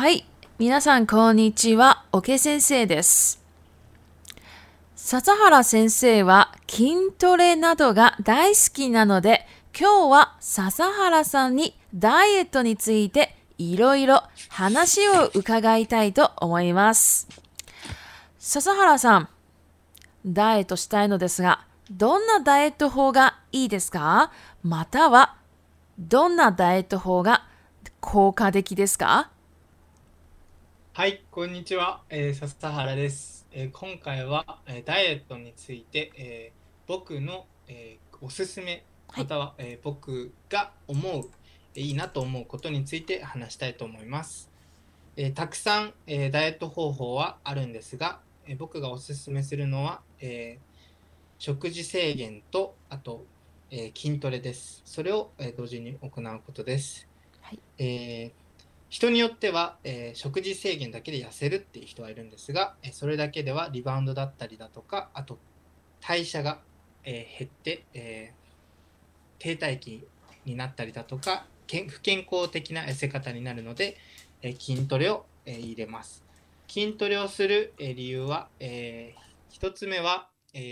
はい。皆さん、こんにちは。オケ先生です。笹原先生は筋トレなどが大好きなので、今日は笹原さんにダイエットについていろいろ話を伺いたいと思います。笹原さん、ダイエットしたいのですが、どんなダイエット法がいいですか？または、どんなダイエット法が効果的ですか？ はい、こんにちは、笹原です。今回は、ダイエットについて、僕の、おすすめ、 はい。 または、僕が思う、いいなと思うことについて話したいと思います。たくさん、ダイエット方法はあるんですが、僕がおすすめするのは、食事制限と、あと、筋トレです。それを、同時に行うことです。 はい。 えー人によっては、食事制限だけで痩せるっていう人はいるんですが、それだけではリバウンドだったりだとか、あと代謝が、減って、停滞期になったりだとか、不健康的な痩せ方になるので、筋トレを、入れます。筋トレをする、理由は、1つ目は、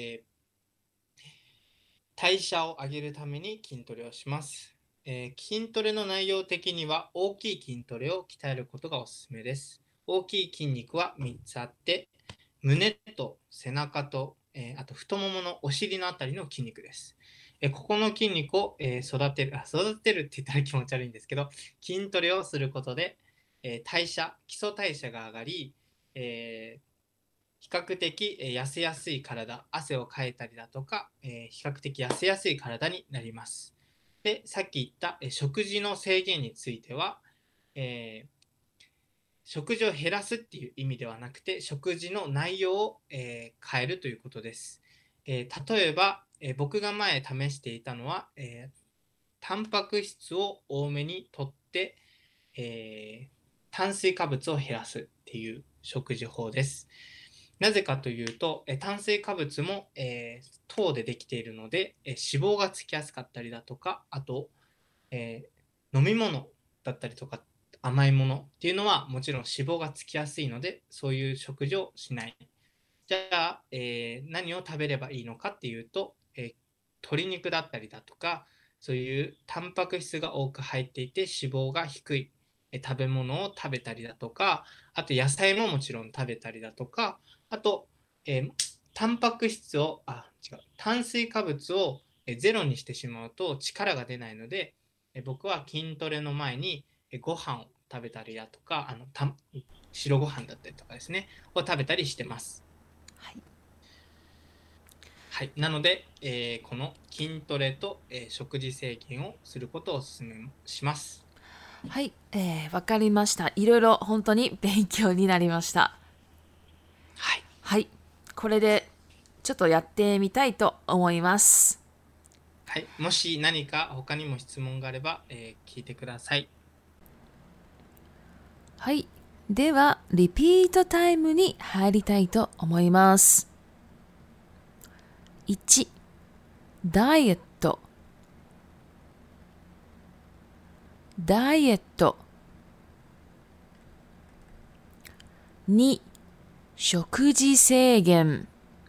代謝を上げるために筋トレをします。筋トレの内容的には大きい筋トレを鍛えることがおすすめです。大きい筋肉は3つあって、胸と背中と、あと太もものお尻のあたりの筋肉です。ここの筋肉を、育てるって言ったら気持ち悪いんですけど、筋トレをすることで、基礎代謝が上がり、比較的痩せやすい体、汗をかいたりだとか、比較的痩せやすい体になります。で、さっき言った食事の制限については、えー食事を減らすっていう意味ではなくて、食事の内容を、変えるということです。例えば、僕が前試していたのは、タンパク質を多めにとって、炭水化物を減らすっていう食事法です。なぜかというと、炭水化物も、糖でできているので、脂肪がつきやすかったりだとか、あと、飲み物だったりとか甘いものっていうのはもちろん脂肪がつきやすいので、そういう食事をしない。じゃあ、何を食べればいいのかっていうと、鶏肉だったりだとか、そういうタンパク質が多く入っていて脂肪が低い、食べ物を食べたりだとか、あと野菜ももちろん食べたりだとか、あと、タンパク質を、炭水化物をゼロにしてしまうと力が出ないので、僕は筋トレの前にご飯を食べたりだとか、白ご飯だったりとかですね、を食べたりしてます。 はい。 はい。なので、この筋トレと、食事制限をすることをお勧めします。 はい、わかりました。いろいろ本当に勉強になりました。 はい。 はい、これでちょっとやってみたいと思います。 はい。もし何か他にも質問があれば、聞いてください。 はい、ではリピートタイムに入りたいと思います。1、ダイエット、ダイエット。2、食事制限、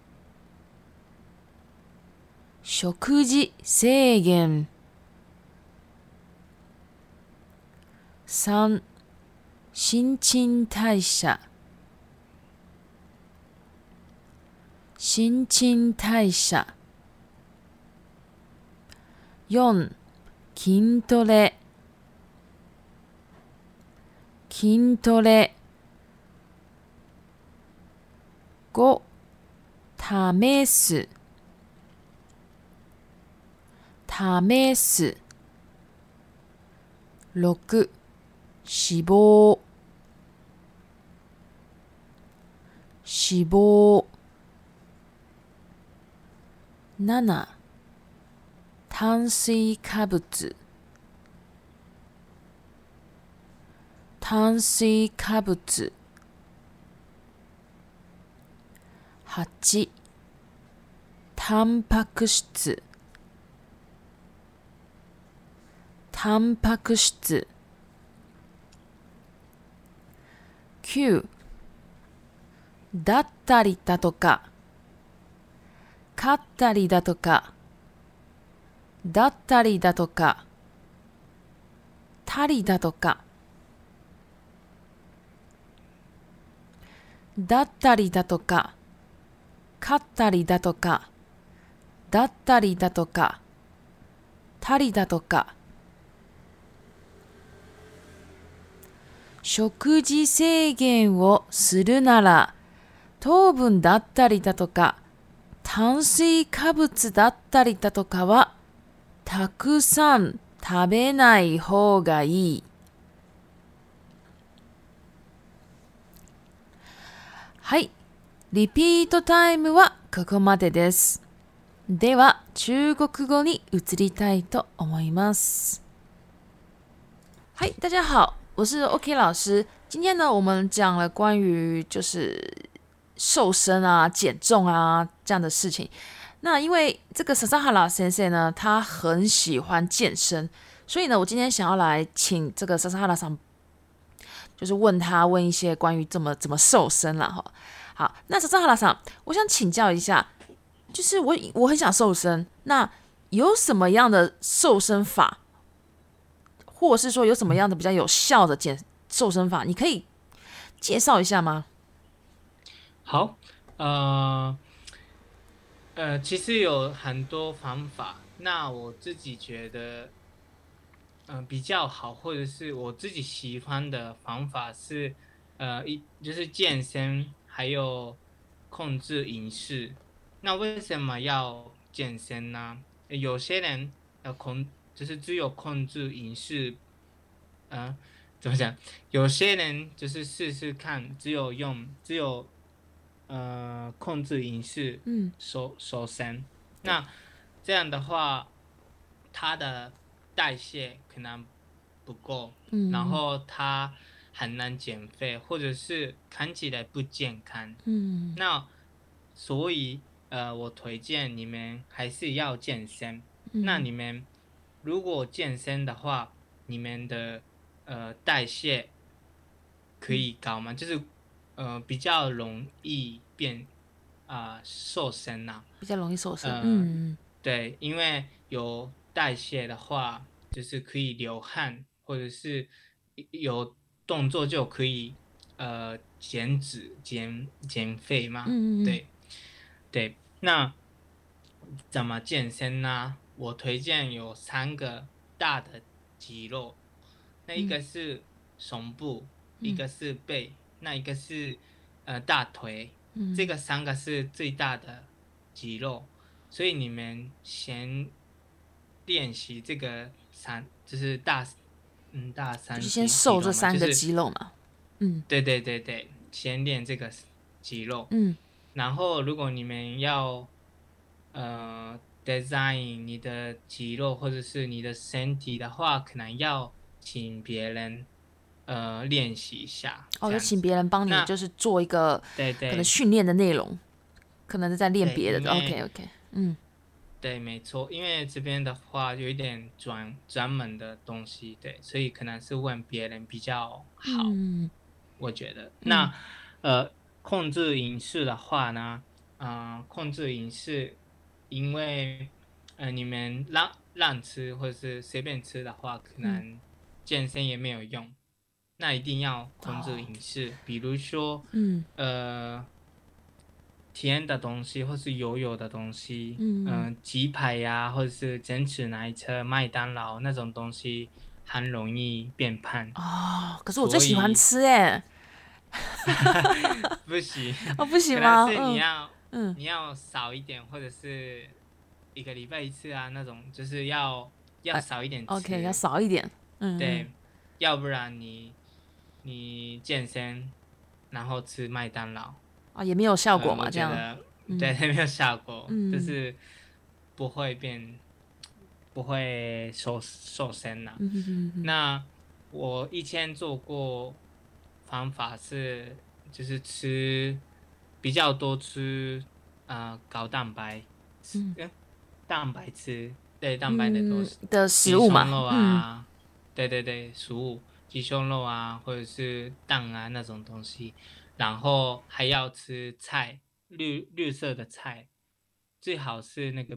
食事制限。3、新陳代謝、新陳代謝。4、筋トレ、筋トレ。5、試す、試す。6、脂肪、脂肪。7、炭水化物、炭水化物。8、タンパク質、タンパク質。 9だったりだとか、勝ったりだとか、だったりだとか、たりだとか、だったりだとか、勝ったりだとか、だったりだとか、たりだとか。食事制限をするなら、糖分だったりだとか、炭水化物だったりだとかは、たくさん食べない方がいい。はい。リピートタイムはここまでです。では、中国語に移りたいと思います。嗨，大家好，我是 OK 老师。今天呢，我们讲了关于就是瘦身啊、减重啊这样的事情。那因为这个 Sasahara 先生呢，他很喜欢健身，所以呢，我今天想要来请这个 Sasahara 上，就是问一些关于怎么瘦身啦哈。好，那 Sasahara 上，我想请教一下，就是我很想瘦身，那有什么样的瘦身法？或者是说有什么样的比较有效的瘦身法，你可以介绍一下吗？ 好，其实有很多方法。那我自己觉得，比较好，或者是我自己喜欢的方法是，就是健身，还有控制饮食。那为什么要健身呢？有些人就是只有控制饮食，怎么讲？有些人就是试试看，只有控制饮食，瘦身。那这样的话，他的代谢可能不够，然后他很难减肥，或者是看起来不健康。那所以我推荐你们还是要健身。那你们如果健身的话，你们的代谢可以高吗？就是比较容易变瘦身啊， 比较容易瘦身。 对，因为有代谢的话，就是可以流汗，或者是有动作就可以减脂、减肥嘛。对，那怎么健身呢？我推荐有3个大的肌肉，那一个是胸部，一个是背，那一个是大腿。这个3个是最大的肌肉，所以你们先练习这个就是大3 就是先瘦这3个肌肉嘛。 对，先练这个肌肉。然后如果你们要design 你的肌肉或者是你的身体的话，可能要请别人练习一下。 就请别人帮你就是做一个可能训练的内容，可能是在练别的。OK， 对，没错，因为这边的话有一点专门的东西，对，所以可能是问别人比较好。我觉得。那控制饮食的话呢，控制饮食，因为你们乱吃或者是随便吃的话，可能健身也没有用。那一定要控制饮食，比如说甜的东西或是油的东西，鸡排呀，或者是珍珠奶茶、麦当劳那种东西，很容易变胖。 可是我最喜欢吃耶。 不行。 不行吗？ 可能是你要少一点，或者是1个礼拜1次啊，那种就是要少一点吃。 OK， 要少一点。 对，要不然你健身然后吃麦当劳也没有效果嘛，这样。 对，没有效果，就是不会瘦身啦。那我以前做过方法是，就是比较多吃高蛋白，蛋白的食物嘛。 对， 食物， 鸡胸肉啊，或者是蛋啊那种东西，然后还要吃菜，绿色的菜，最好是那个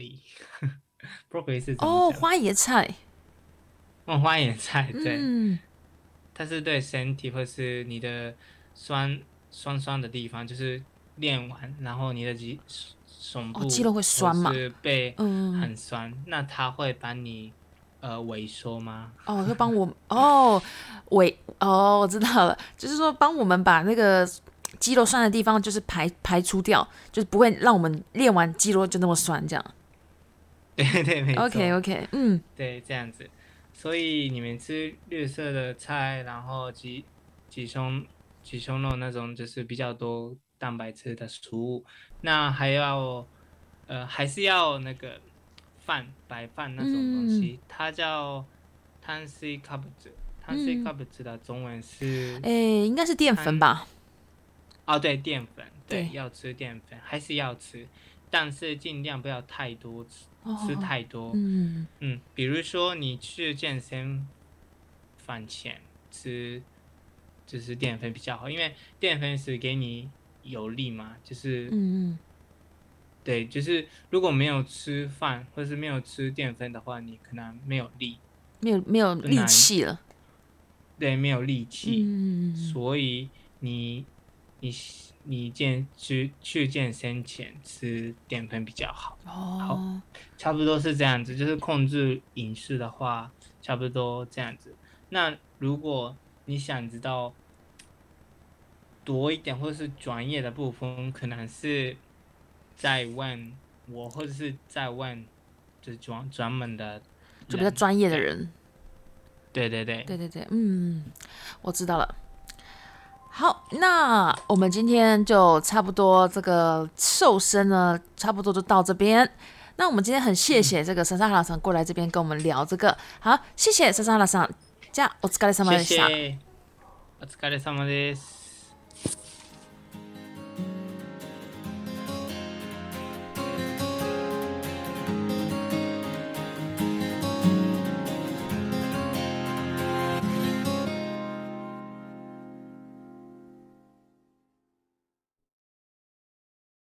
broccoli，broccoli 是怎么哦， 讲？ 花椰菜， 花椰菜，对， 嗯， 它是对身体或是你的酸的地方，就是练完，然后你的胸哦，肌肉会部或酸嘛， 是背嗯， 很酸，那它会把你萎缩吗？ 哦，会帮我，哦，我知道了，就是说帮我们把那个肌肉酸的地方，就是排除掉，就是不会让我们练完肌肉就那么酸这样。 对对，没 OK 错， OK，嗯对，这样子。所以你们吃绿色的菜，然后鸡胸鸡胸肉那种就是比较多蛋白质的食物，那还是要那个白饭那种东嗯西，它叫碳水化合物。碳水嗯， 化合物的中文是诶，应该是淀粉吧？ 哦，对，淀粉，对， 对， 要吃淀粉，还是要吃，但是尽量不要太多吃哦， 太多。 嗯比如说你去健身饭前吃，就是淀粉比较好，因为淀粉是给你有力嘛，就是嗯嗯， 对，就是如果没有吃饭或是没有吃淀粉的话，你可能没有力， 没有力不难， 气了， 对，没有力气， 嗯所以你你去健身前吃淀粉比较好。好， 哦， 差不多是这样子，就是控制饮食的话，差不多这样子。那如果你想知道多一点或是专业的部分，可能是在问我，或者是在问就是专门的人。 就比较专业的对人， 对对对， 对对对，我知道了。好，那我们今天就差不多这个瘦身呢，差不多就到这边。那我们今天很谢谢这个莎莎哈拉桑过来这边跟我们聊这个，好，谢谢莎莎哈拉桑，じゃあお疲れ様谢でした。 谢，お疲れ様です。